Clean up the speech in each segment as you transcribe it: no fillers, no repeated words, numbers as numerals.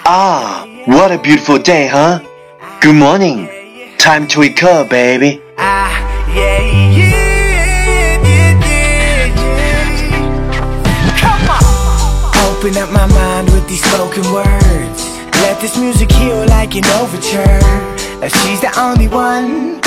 Ah, what a beautiful day, huh? Good morning. Time to wake up, baby. Come on. Open up my mind with these spoken words. Let this music heal like an overture. She's the only one,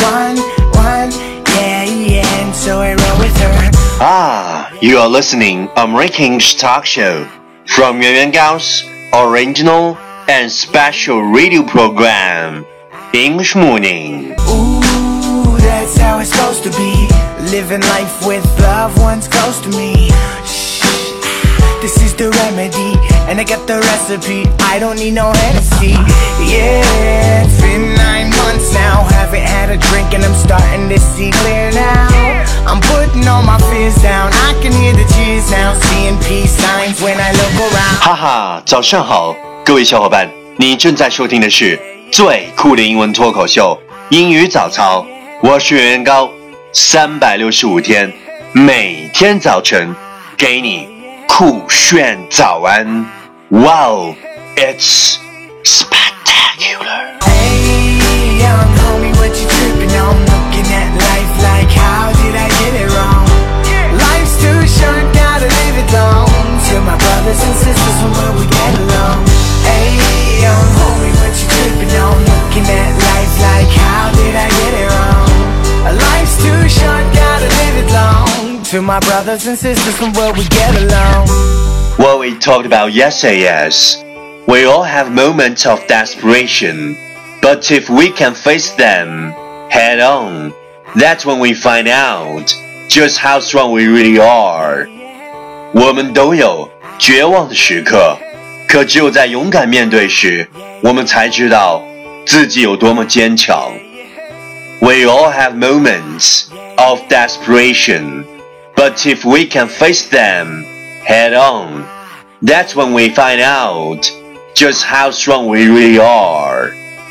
yeah, and so I roll with her. Ah, you are listening American talk show from Yuan Yuan Gao's original and special radio program, English Morning. Ooh, that's how it's supposed to be. Living life with loved ones close to me. Shh, this is the remedy, and I got the recipe. I don't need no Hennessy. Yeah, it's been 9 months now. Haven't had a drink and I'm starting to see clear now. I'm putting all my fears down. I can hear the cheers now. Seeing peace signs when I look around. 哈哈，早上好，各位小伙伴，你正在收听的是最酷的英文脱口秀英语早操。我是袁元高，365天，每天早晨给你酷炫早安。Wow, it's spectacular. Hey, young homie, what you tripping on? Looking at life like, how did I get it wrong? Life's too short, gotta live it long. To my brothers and sisters from where we get along. Hey, young homie, what you tripping on? Looking at life like, how did I get it wrong? Life's too short, gotta live it long. To my brothers and sisters from where we get along. What we talked about yesterday is, we all have moments of desperation, but if we can face them head on, that's when we find out just how strong we really are. 我们都有绝望的时刻，可只有在勇敢面对时，我们才知道自己有多么坚强。We all have moments of desperation, but if we can face them head on, that's when we find out just how strong we really are.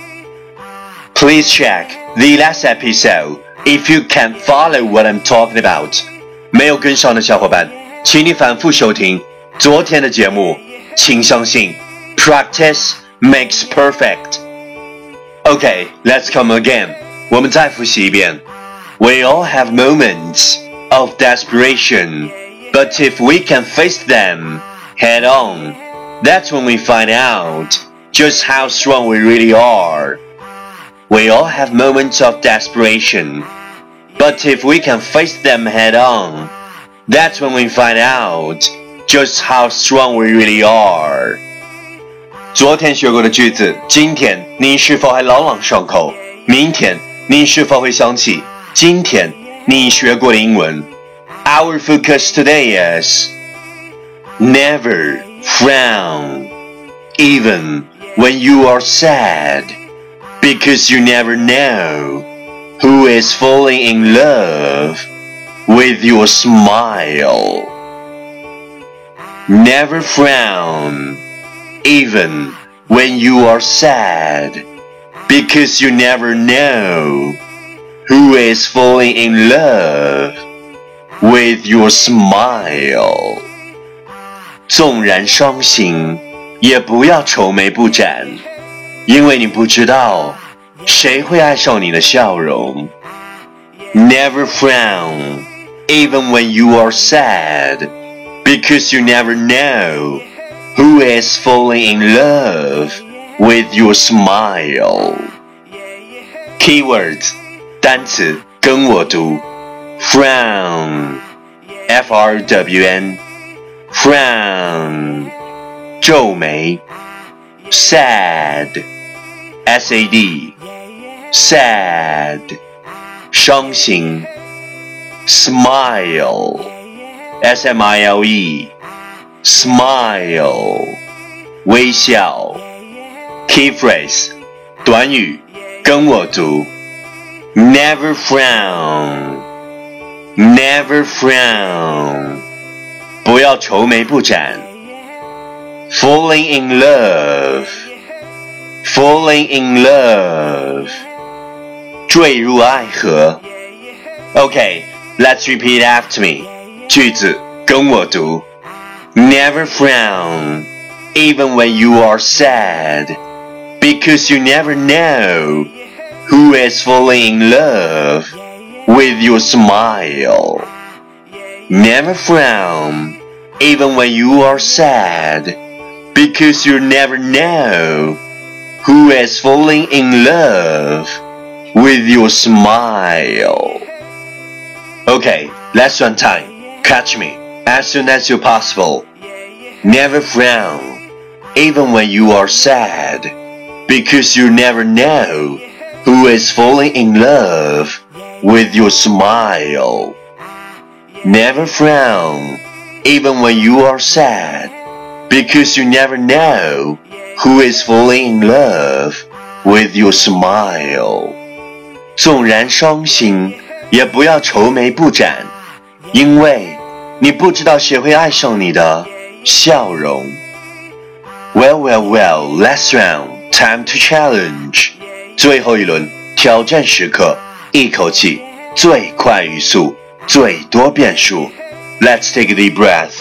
Please check the last episode if you can't follow what I'm talking about. 没有跟上的小伙伴，请你反复收听昨天的节目。请相信 ，practice makes perfect. Okay, let's come again. 我们再复习一遍。We all have moments of desperation, but if we can face them head on, that's when we find out just how strong we really are. We all have moments of desperation, but if we can face them head on, that's when we find out just how strong we really are. 昨天学过的句子，今天你是否还朗朗上口？明天你是否会想起今天你学过的英文？ Our focus today is never frown, even when you are sad, because you never know who is falling in love with your smile. Never frown, even when you are sad, because you never know who is falling in love with your smile. 纵然伤心，也不要愁眉不展，因为你不知道谁会爱上你的笑容。Never frown, even when you are sad, because you never know who is falling in love with your smile. Keywords 单词跟我读 Frown F-R-W-N Frown 皱眉 Sad S-A-D Sad 伤心 Smile S-M-I-L-E Smile 微笑 Key phrase 短语跟我读 Never frown Never frown 不要愁眉不展 Falling in love Falling in love 坠入爱河 Okay, let's repeat after me 句子跟我读 Never frown even when you are sad, because you never know who is falling in love with your smile. Never frown, even when you are sad, because you never know who is falling in love with your smile. Okay, lesson time. Catch me as soon as you're possible. Never frown, even when you are sad, because you never know who is falling in love with your smile. Never frown, even when you are sad, because you never know who is falling in love with your smile. 纵然伤心，也不要愁眉不展，因为你不知道谁会爱上你的笑容。Well, last round, time to challenge. 最后一轮挑战时刻，一口气，最快语速，最多变数。Let's take a deep breath.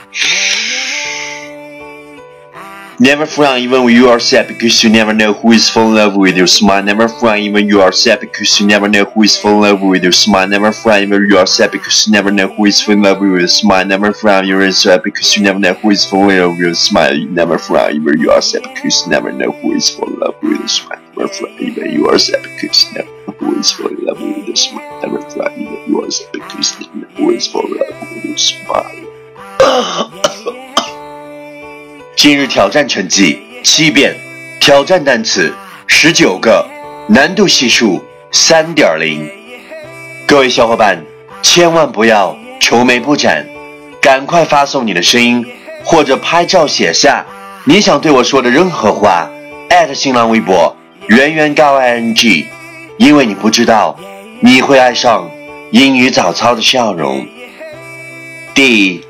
Never frown even when you are sad, because you never know who is falling in love with your smile. Never frown even when you are sad, because you never know who is falling in love with your smile. Never frown even when you are sad, because you never know who is falling in love with your smile. Never frown even when you are sad, because you never know who is falling in love with your smile. Never frown even when you are sad, because you never know who is falling in love with your smile. Never frown even when you are sad, because you never know who is falling in love with your smile. Never frown even when you are sad, because you never know who is falling in love with your smile. 今日挑战成绩7遍，挑战单词19个，难度系数3.0。各位小伙伴，千万不要愁眉不展，赶快发送你的声音或者拍照写下你想对我说的任何话，@新浪微博圆圆高 ing， 因为你不知道你会爱上英语早操的笑容。第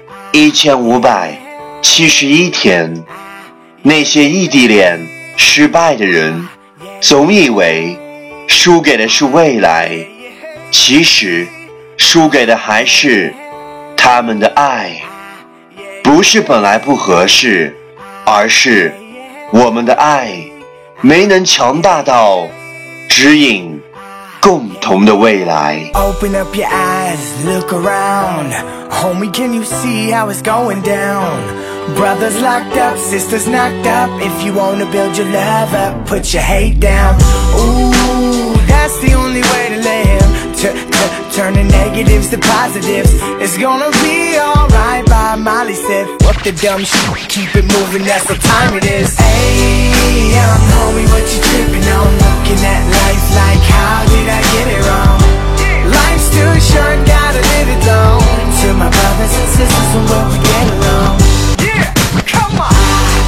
1571天，那些异地恋失败的人总以为输给的是未来，其实输给的还是他们的爱。不是本来不合适，而是我们的爱没能强大到指引共同的未来。 Open up your eyes, look around. Homie, can you see how it's going down? Brothers locked up, sisters knocked up. If you wanna build your love up, put your hate down. Ooh, that's the only way to live. Turn the negatives to positives. It's gonna be alright by Molly said. What the dumb shit, keep it moving, that's what time it is. Hey, young homie, what you tripping on? Looking at life like, how did I get it wrong? Life's too short, gotta live it long. To my brothers and sisters from where we get along. Yeah, come on.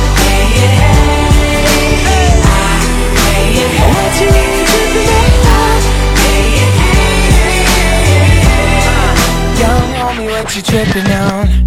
What you tripping on? Young homie, what you tripping on?